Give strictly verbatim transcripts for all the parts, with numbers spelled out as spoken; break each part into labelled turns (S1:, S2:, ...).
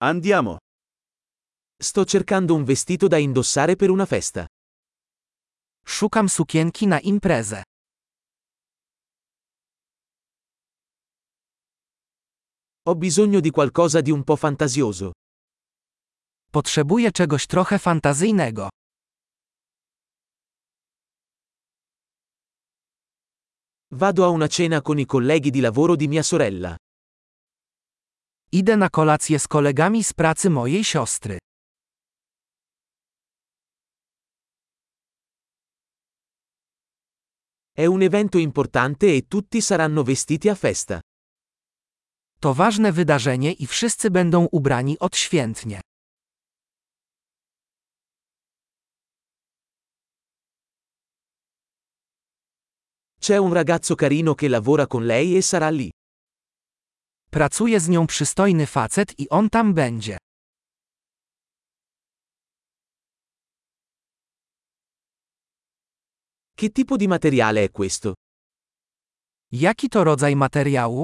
S1: Andiamo.
S2: Sto cercando un vestito da indossare per una festa.
S3: Szukam sukienki na imprezę.
S2: Ho bisogno di qualcosa di un po' fantasioso.
S3: Potrzebuję czegoś trochę fantazyjnego.
S2: Vado a una cena con i colleghi di lavoro di mia sorella.
S3: Idę na kolację z kolegami z pracy mojej siostry.
S2: È un evento importante e tutti saranno vestiti a festa.
S3: To ważne wydarzenie i wszyscy będą ubrani odświętnie.
S2: C'è un ragazzo carino che lavora con lei e sarà lì.
S3: Pracuje z nią przystojny facet i on tam będzie.
S2: Che tipo di materiale è questo?
S3: Jaki to rodzaj materiału?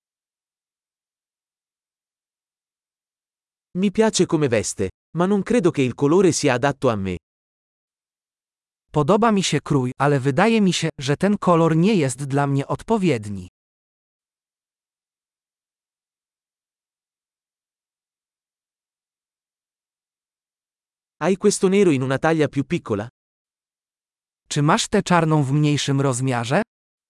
S2: Mi piace come veste, ma non credo che il colore sia adatto a me.
S3: Podoba mi się krój, ale wydaje mi się, że ten kolor nie jest dla mnie odpowiedni.
S2: Hai questo nero in una taglia più piccola?
S3: Czy masz tę czarną w mniejszym rozmiarze?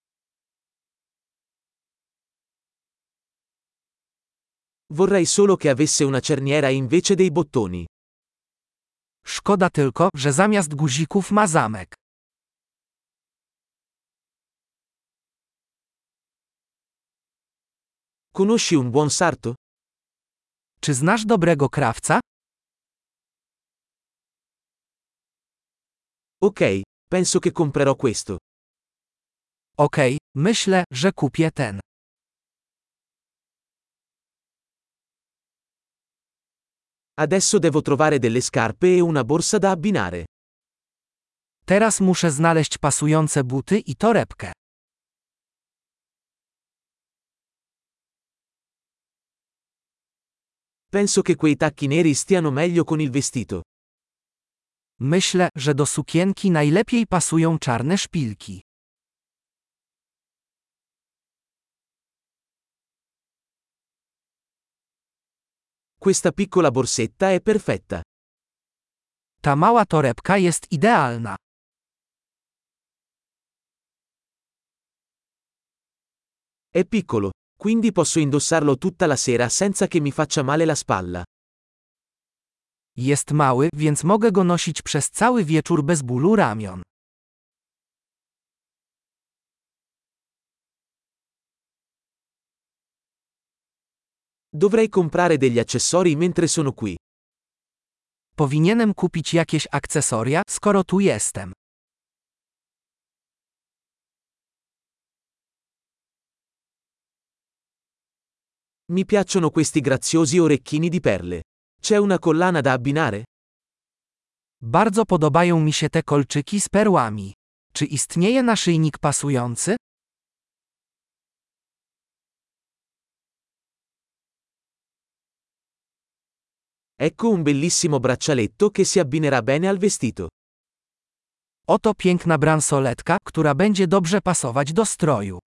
S2: Vorrei solo che avesse una cerniera invece dei bottoni.
S3: Szkoda tylko, że zamiast guzików ma zamek.
S2: Conosci un buon sarto?
S3: Czy znasz dobrego krawca?
S2: Ok, penso che comprerò questo.
S3: Okej, myślę, że kupię ten.
S2: Adesso devo trovare delle scarpe e una borsa da abbinare.
S3: Teraz muszę znaleźć pasujące buty i torebkę.
S2: Penso che quei tacchi neri stiano meglio con il vestito.
S3: Myślę, że do sukienki najlepiej pasują czarne szpilki.
S2: Questa piccola borsetta è perfetta.
S3: Ta mała torebka jest idealna.
S2: È piccolo, quindi posso indossarlo tutta la sera senza che mi faccia male la spalla.
S3: Jest mały, więc mogę go nosić przez cały wieczór bez bólu ramion.
S2: Dovrei comprare degli accessori mentre sono qui.
S3: Powinienem kupić jakieś akcesoria, skoro tu jestem.
S2: Mi piacciono questi graziosi orecchini di perle. C'è una collana da abbinare?
S3: Bardzo podobają mi się te kolczyki z perłami. Czy istnieje naszyjnik pasujący?
S2: Ecco un bellissimo braccialetto che si abbinerà bene al vestito.
S3: Oto piękna bransoletka, która będzie dobrze pasować do stroju.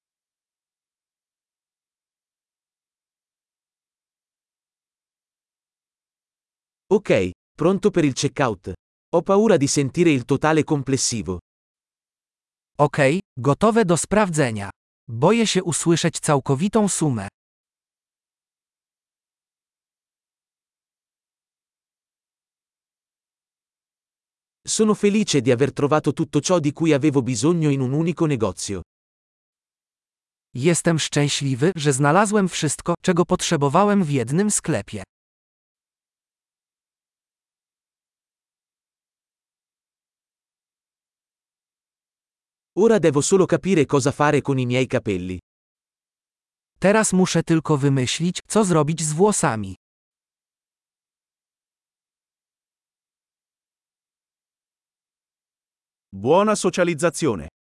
S2: Ok, pronto per il checkout. Ho paura di sentire il totale complessivo.
S3: Okej, gotowe do sprawdzenia. Boję się usłyszeć całkowitą sumę.
S2: Sono felice di aver trovato tutto ciò di cui avevo bisogno in un unico negozio.
S3: Jestem szczęśliwy, że znalazłem wszystko, czego potrzebowałem w jednym sklepie.
S2: Ora devo solo capire cosa fare con i miei capelli.
S3: Teraz muszę tylko wymyślić, co zrobić z włosami.
S1: Buona socializzazione.